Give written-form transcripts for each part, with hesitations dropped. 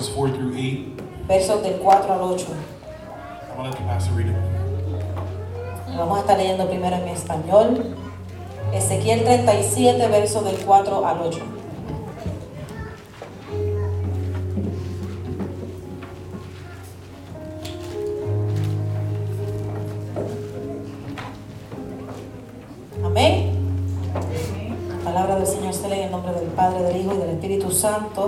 verses 4 through 8. Versos del 4 al 8. I'm going to let the pastor read it. Vamos a estar leyendo primero en español. Ezequiel 37, versos del 4 al 8. Amén. La palabra del Señor se lee en el nombre del Padre, del Hijo y del Espíritu Santo.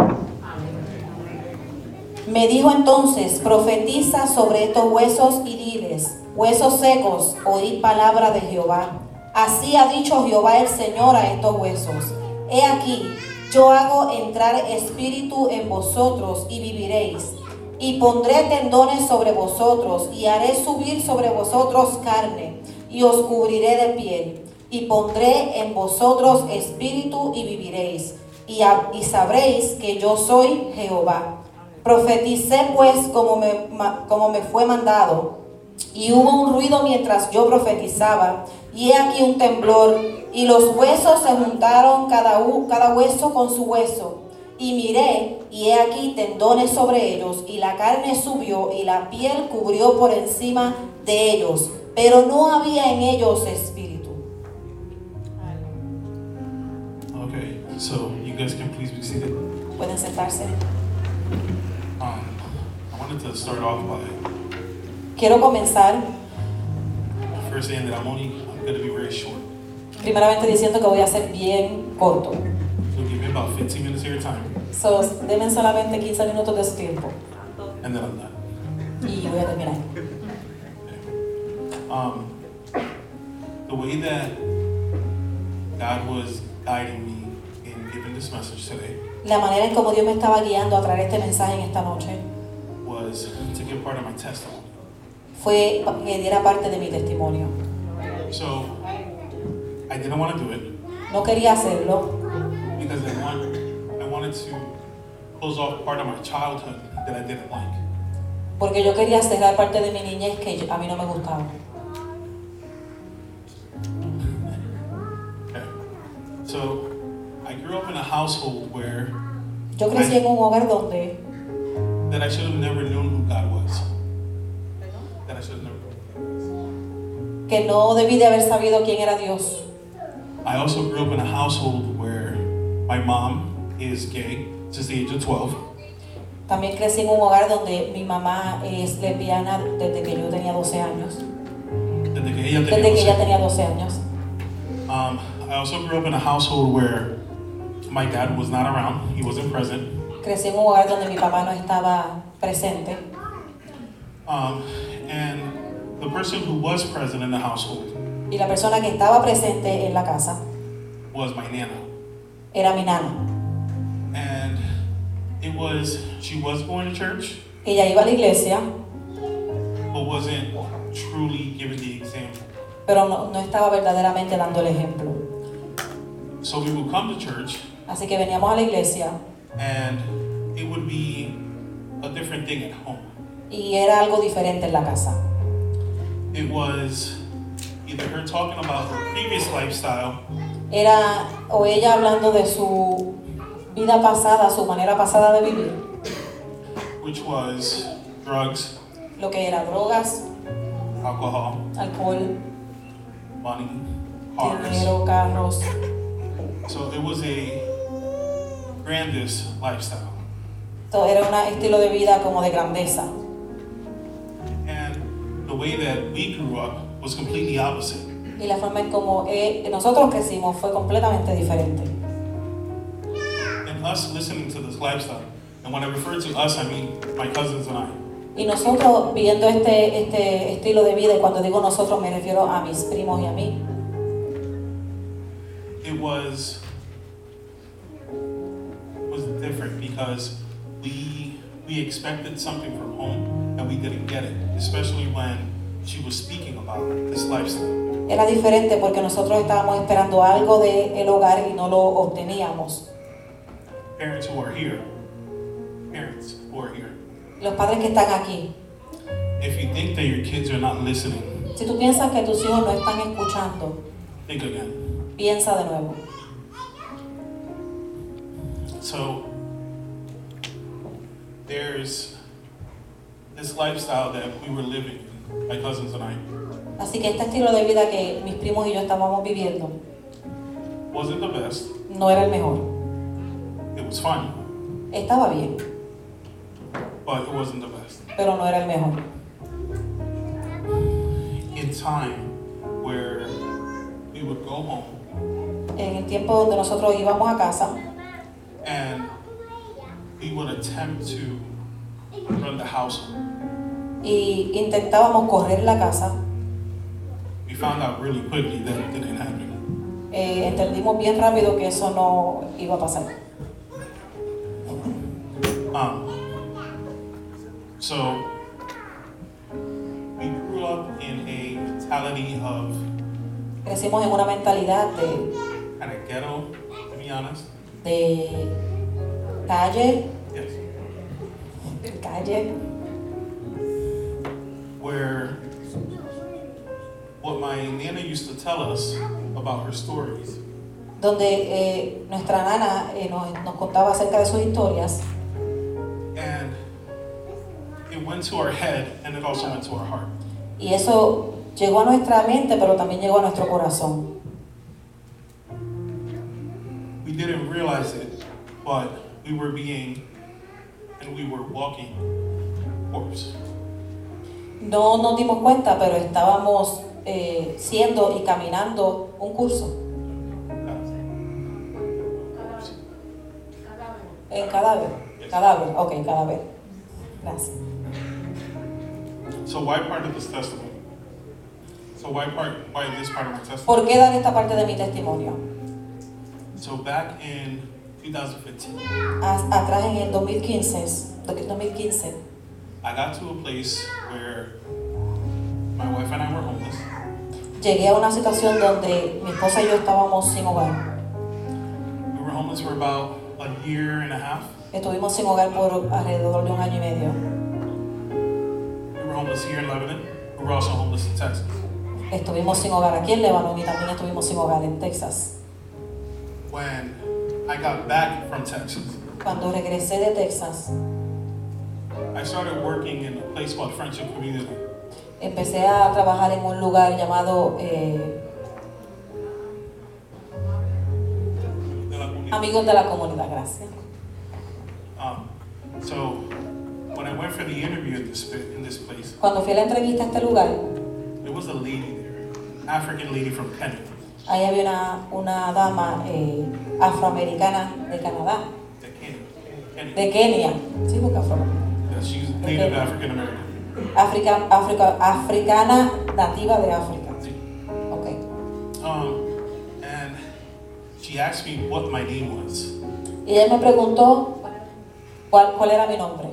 Me dijo entonces: profetiza sobre estos huesos y diles: huesos secos, oíd palabra de Jehová. Así ha dicho Jehová el Señor a estos huesos: he aquí, yo hago entrar espíritu en vosotros y viviréis, y pondré tendones sobre vosotros, y haré subir sobre vosotros carne, y os cubriré de piel, y pondré en vosotros espíritu y viviréis, y sabréis que yo soy Jehová. Profeticé pues como me fue mandado, y hubo un ruido mientras yo profetizaba, y he aquí un temblor, y los huesos se juntaron cada hueso con su hueso. Y miré, y he aquí tendones sobre ellos, y la carne subió, y la piel cubrió por encima de ellos, pero no había en ellos espíritu. Okay, so you guys can please be seated. Pueden sentarse. I wanted to start off by Quiero comenzar first saying that I'm going to be very short. primeramente diciendo que voy a ser bien corto. So give me about 15 minutes of your time, So, denme solamente 15 minutos de su tiempo and then I'm done. y voy a terminar. The way that God was guiding me in giving this message today La manera en como Dios me estaba guiando a traer este mensaje en esta noche was to give part of my testimony. fue que diera parte de mi testimonio. So I didn't want to do it No quería hacerlo because I wanted to close off part of my childhood that I didn't like. porque yo quería cerrar parte de mi niñez que a mí no me gustaba. Okay. So I grew up in a household where Yo crecí en un hogar donde that I should have never known who God was. That I should have never known. que no debí de haber sabido quién era Dios. I also grew up in a household where my mom is gay since the age of 12. También crecí en un hogar donde mi mamá es lesbiana desde que yo tenía 12 años. Desde que ella Desde tenía que ella 12. tenía 12 años. I also grew up in a household where my dad was not around. He wasn't present. Crecí en un hogar donde mi papá no estaba presente. And the person who was present in the household Y la persona que estaba presente en la casa was my nana. era mi nana. And she was going to church, Ella iba a la iglesia, but wasn't truly giving the example. pero no estaba verdaderamente dando el ejemplo. So we would come to church, Así que veníamos a la iglesia and it would be a different thing at home. y era algo diferente en la casa. It was either her talking about her previous lifestyle, Era o ella hablando de su vida pasada, su manera pasada de vivir, which was drugs, lo que era drogas, alcohol, alcohol, money, cars. dinero, carros. So it was a grandiose lifestyle. Todo era un estilo de vida como de grandeza. And the way that we grew up was completely opposite. Y la forma en como nosotros crecimos fue completamente diferente. And us listening to this lifestyle, and when I refer to us, I mean my cousins and I. Y nosotros viendo este estilo de vida, y cuando digo nosotros me refiero a mis primos y a mí, It was different because we expected something from home and we didn't get it, especially when she was speaking about this lifestyle. era diferente porque nosotros estábamos esperando algo del hogar y no lo obteníamos. Parents who are here, Los padres que están aquí, if you think that your kids are not listening, si tú piensas que tus hijos no están escuchando, think again. piensa de nuevo. So there's this lifestyle that we were living, my cousins and I, Así que este estilo de vida que mis primos y yo estábamos viviendo wasn't the best. no era el mejor. It was fun, Estaba bien, but it wasn't the best. pero no era el mejor. In time where we would go home En el tiempo donde nosotros íbamos a casa and we would attempt to run the household, y intentábamos correr la casa, we found out really quickly that it didn't happen. entendimos bien rápido que eso no iba a pasar. So we grew up in a mentality of Crecimos en una mentalidad kind of ghetto, to be honest. de calle, Yes. Where what my nana used to tell us about her stories donde nuestra nana nos contaba acerca de sus historias, and it went to our head and it also went to our heart. y eso llegó a nuestra mente, pero también llegó a nuestro corazón. We didn't realize it, but we were walking horse. No nos dimos cuenta, pero estábamos siendo y caminando un curso en cadáver. Cadáver, ok, cadáver. Gracias. So why part of this testimony? Why this part of my testimony? ¿Por qué dar esta parte de mi testimonio? So back in 2015, Atrás en el 2015, I got to a place where my wife and I were homeless. llegué a una situación donde mi esposa y yo estábamos sin hogar. We were homeless for about a year and a half. Estuvimos sin hogar por alrededor de 1 año y medio. We were homeless here in Lebanon. We were also homeless in Texas. Estuvimos sin hogar aquí en Líbano y también estuvimos sin hogar en Texas. When I got back from Texas, Cuando regresé de Texas, I started working in a place called Friendship Community. empecé a trabajar en un lugar llamado Amigos de la Comunidad, gracias. So when I went for the interview in this place, Cuando fui a la entrevista a este lugar, there was a lady there, African lady from Kenya. ahí había una dama afroamericana de Canadá, de Kenia, sí, porque Yeah, she's native African American. africana nativa de África. Okay. And she asked me what my name was. Y ella me preguntó cuál era mi nombre.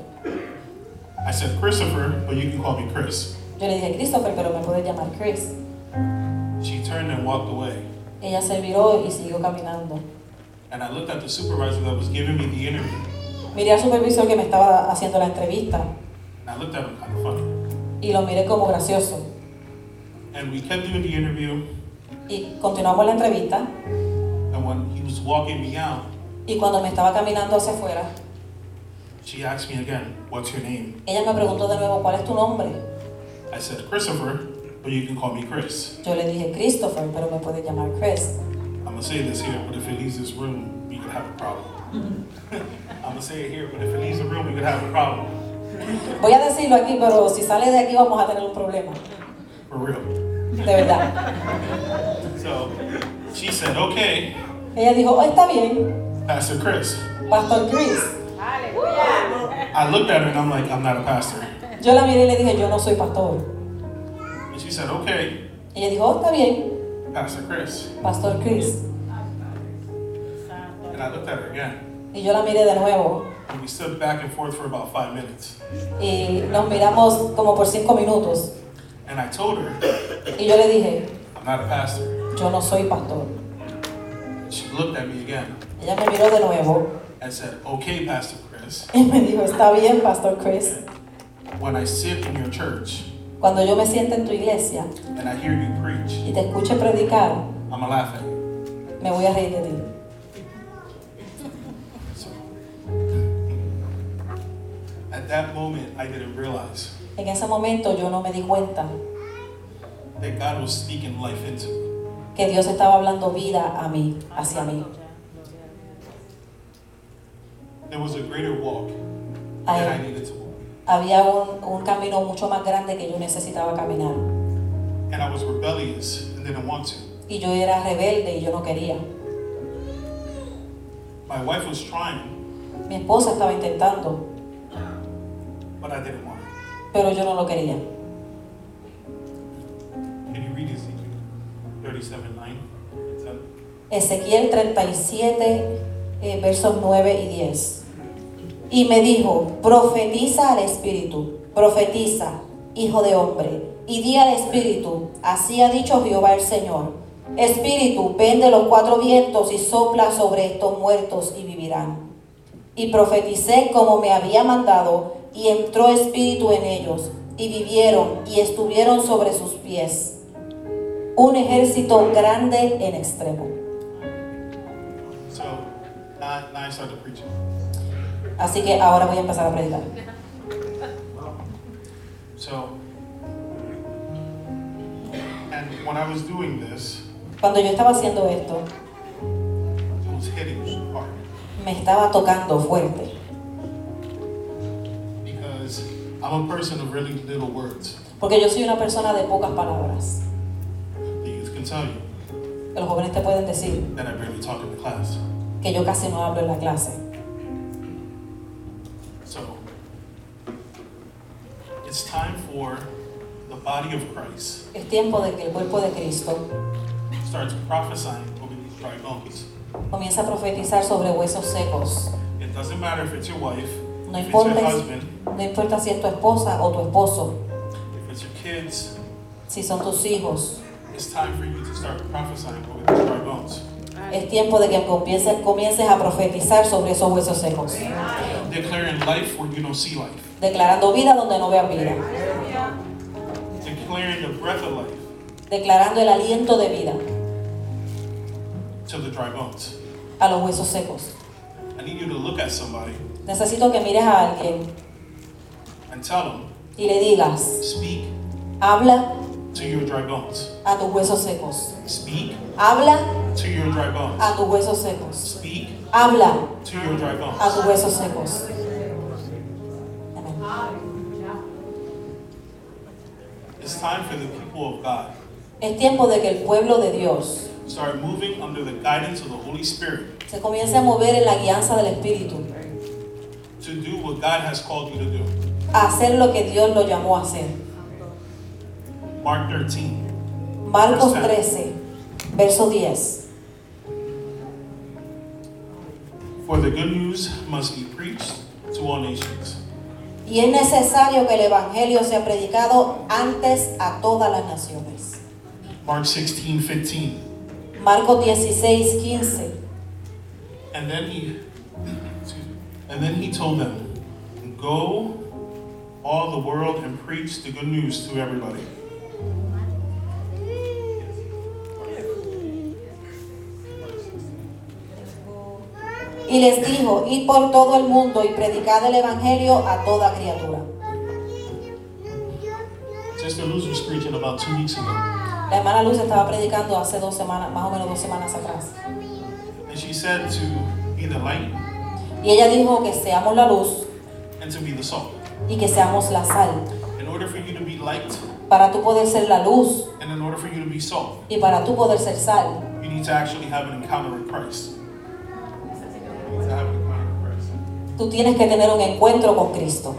I said Christopher, but you can call me Chris. Yo le dije Christopher, pero me puedes llamar Chris. She turned and walked away. Ella se viró y siguió caminando. And I looked at the supervisor that was giving me the interview. Miré al supervisor que me estaba haciendo la entrevista And I looked at him kind of funny. y lo miré como gracioso. And we kept doing the interview. Y continuamos la entrevista And when he was walking me out, y cuando me estaba caminando hacia afuera, she asked me again, what's your name? ella me preguntó de nuevo cuál es tu nombre. I said Christopher, but you can call me Chris. Yo le dije Christopher, pero me puedes llamar Chris. I'm going to say this here, but if it leaves this room, we could have a problem. I'm going to say it here, but if it leaves the room, we could have a problem. Voy a decirlo aquí, pero si sale de aquí vamos a tener un problema. For real. De verdad. So she said, okay, Ella dijo, oh, está bien, Pastor Chris. Pastor Chris. I looked at her and I'm like, I'm not a pastor. Yo la miré y le dije, yo no soy pastor. And she said, okay, Ella dijo, oh, está bien, Pastor Chris. Pastor Chris. And I looked at her again. Y yo la miré de nuevo. And we stood back and forth for about 5 minutes. Y nos miramos como por 5 minutos. And I told her, Y yo le dije, I'm not a pastor. yo no soy pastor. She looked at me again Ella me miró de nuevo and said, okay, Pastor Chris, y me dijo, está bien, Pastor Chris. when I sit in your church Cuando yo me siente en tu iglesia and I hear you preach, y te escuche predicar, I'm going to laugh at you. me voy a reír de ti. So, that moment, I didn't realize En ese momento yo no me di cuenta that God was speaking life into me. que Dios estaba hablando vida a mí, hacia mí. There was a greater walk that I Hay- needed to walk. Había un camino mucho más grande que yo necesitaba caminar. And I was rebellious and didn't want to. Y yo era rebelde y yo no quería. My wife was trying, Mi esposa estaba intentando, but I didn't want it. pero yo no lo quería. Can you read Ezekiel 37:9 and 10? Ezequiel 37, versos 9 y 10. Y me dijo, profetiza al Espíritu, profetiza, hijo de hombre, y di al Espíritu, así ha dicho Jehová el Señor. Espíritu, ven de los cuatro vientos y sopla sobre estos muertos y vivirán. Y profeticé como me había mandado, y entró espíritu en ellos, y vivieron y estuvieron sobre sus pies. Un ejército grande en extremo. So now I started preaching. Así que ahora voy a empezar a predicar. So, and when I was doing this, Cuando yo estaba haciendo esto, it was hitting me hard me estaba tocando fuerte. because I'm a person of really little words. Porque yo soy una persona de pocas palabras. The youth can tell you Que los jóvenes te pueden decir that I barely talk in the class. que yo casi no hablo en la clase. So, it's time for the body of Christ Es tiempo de que el cuerpo de Cristo starts prophesying over these dry bones. comience a profetizar sobre huesos secos. It doesn't matter if it's your wife, No if it's your importa, husband, no importa si es tu esposa o tu esposo, if it's your kids. si son tus hijos. It's time for you to start prophesying over these dry bones. Es tiempo de que comiences a profetizar sobre esos huesos secos. Declaring life where you don't see life. Declarando vida donde no veas vida. Declaring the breath of life Declarando el aliento de vida to the dry bones. a los huesos secos. I need you to look at somebody Necesito que mires a alguien and tell them, y le digas, speak habla to your dry bones. a tus huesos secos. Speak Habla to your dry bones. a tus huesos secos. Speak Habla to your dry a bones. tus huesos secos. Amén. It's time for the people of God Es tiempo de que el pueblo de Dios to start moving under the guidance of the Holy Spirit se comience a mover en la guianza del Espíritu, to do what God has called you to do. a hacer lo que Dios lo llamó a hacer. Mark 13. Marcos 13, verso 10. For the good news must be preached to all nations. Y es necesario que el Evangelio sea predicado antes a todas las naciones. Mark 16:15. Marcos 16, 15. And then he told them, go all the world and preach the good news to everybody. Y les dijo, id por todo el mundo y predicad el Evangelio a toda criatura. Sister Luz was preaching about 2 weeks ago. La hermana Luz estaba predicando hace 2 semanas, más o menos 2 semanas atrás. And she said to be the light Y ella dijo que seamos la luz and to be the salt. y que seamos la sal. In order for you to be light Para tú poder ser la luz and in order for you to be salt, y para tú poder ser sal, you need to actually have an encounter with Christ. You need to have an encounter with Christ. tú tienes que tener un encuentro con Cristo.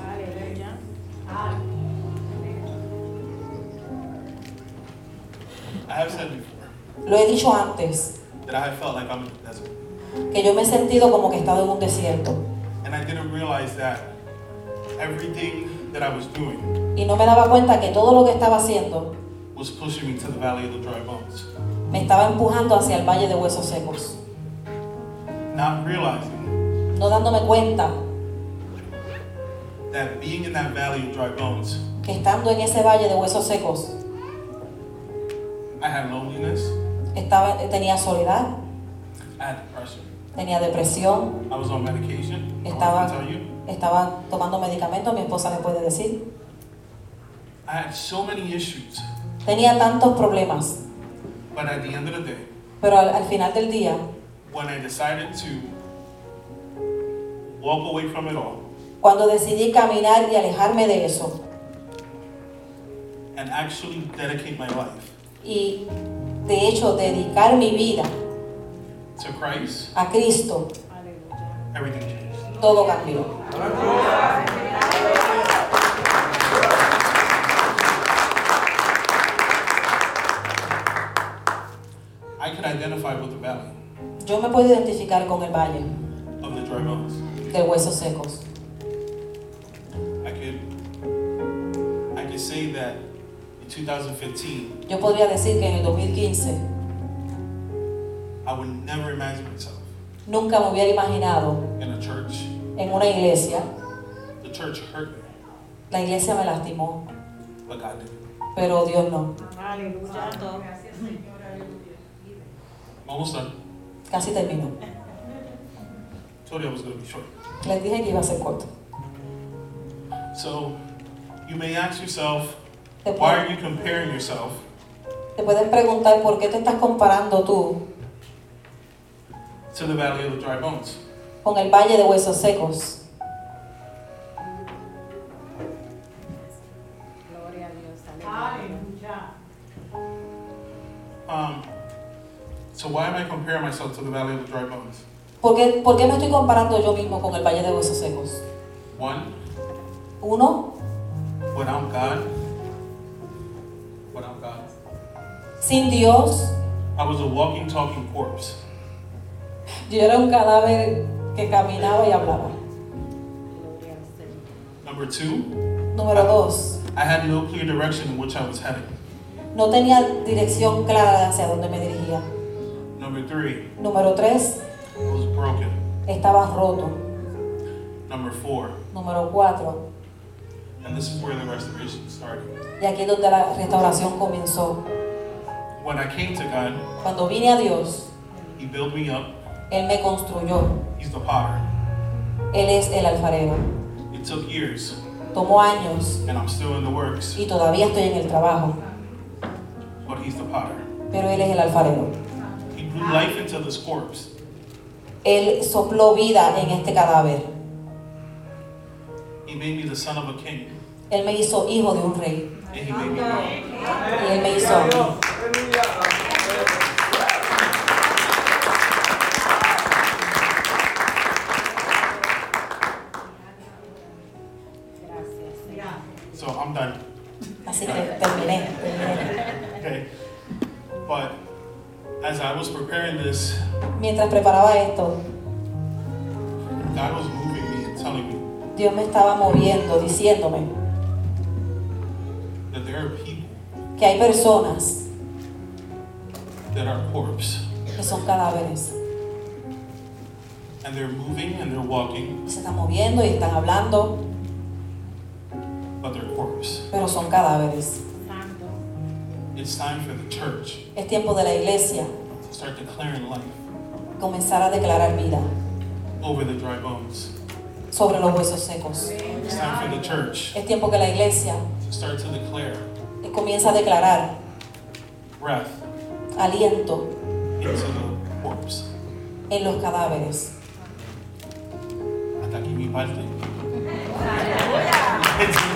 I have said before Lo he dicho antes, that I have felt like I'm in the desert. que yo me he sentido como que he estado en un desierto. And I didn't realize that everything that I was doing Y no me daba cuenta que todo lo que estaba haciendo was pushing me to the valley of the dry bones. me estaba empujando hacia el valle de huesos secos. Not realizing No dándome cuenta that being in that valley of dry bones, que estando en ese valle de huesos secos, I had loneliness, tenía soledad, I had depression, tenía depresión, I was on medication. I Estaba- want to tell you, Estaba tomando medicamentos, mi esposa me puede decir. I had so many issues. Tenía tantos problemas, But at the end of the day, pero al final del día, when I decided to walk away from it all cuando decidí caminar y alejarme de eso and actually dedicate my life y de hecho dedicar mi vida to Christ, a Cristo, everything changed. todo cambió. I could identify with the valley Yo me puedo identificar con el valle of the dry bones. de huesos secos. I could say that in 2015, Yo podría decir que en el 2015 I would never imagine myself nunca me hubiera imaginado in a church. en una iglesia. The church hurt me, La iglesia me lastimó, but God didn't. pero Dios no. Almost done. Casi terminó. Told you I was going to be short. Les dije que iba a ser corto. So, you may ask yourself, Te, why are pu- you comparing yourself te puedes preguntar por qué te estás comparando tú to the valley of the dry bones? con el valle de huesos secos. Gloria a Dios. Aleluya. So why am I comparing myself to the valley of the dry bones? ¿Por qué me estoy comparando yo mismo con el valle de huesos secos? One, Uno, without God, sin Dios, I was a walking, talking corpse. yo era un cadáver que caminaba y hablaba. Gloria al Señor. Number two, Número dos, I had no clear direction in which I was heading. no tenía dirección clara de hacia dónde me dirigía. Number three, Número tres, I was broken. estaba roto. Number four, Número cuatro, and this is where the restoration started. y aquí es donde la restauración comenzó. When I came to God, Cuando vine a Dios, He built me up. Él me construyó. He's the potter. Él es el alfarero. It took years, Tomó años and I'm still in the works, y todavía estoy en el trabajo, but He's the potter. pero Él es el alfarero. He blew life into this corpse. Él sopló vida en este cadáver. He made me the son of a king, Él me hizo hijo de un rey and He made me grow. y Él me hizo a mí. Gracias, Señor. So I'm done. Así que terminé. Okay. But as I was preparing this, Mientras preparaba esto, God was moving me and telling me Dios me estaba moviendo, diciéndome that there are people que hay personas that are corpse, que son cadáveres. and they're moving and they're walking, Se están moviendo y están hablando, but they're corpse. pero son cadáveres. Santo. It's time for the church Es tiempo de la iglesia to start declaring life comenzar a declarar vida over the dry bones. sobre los huesos secos. It's time for the church Es tiempo que la iglesia to start to declare comienza a declarar breath aliento into the corpse. en los cadáveres. Hasta aquí mi parte.